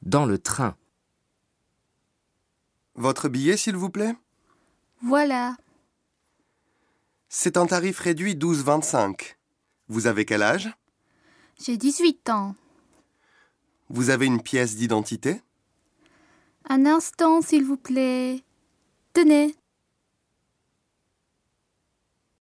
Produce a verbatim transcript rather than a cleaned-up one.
Dans le train. Votre billet, s'il vous plaît? Voilà. C'est un tarif réduit douze vingt-cinq. Vous avez quel âge? J'ai dix-huit ans. Vous avez une pièce d'identité? Un instant, s'il vous plaît. Tenez.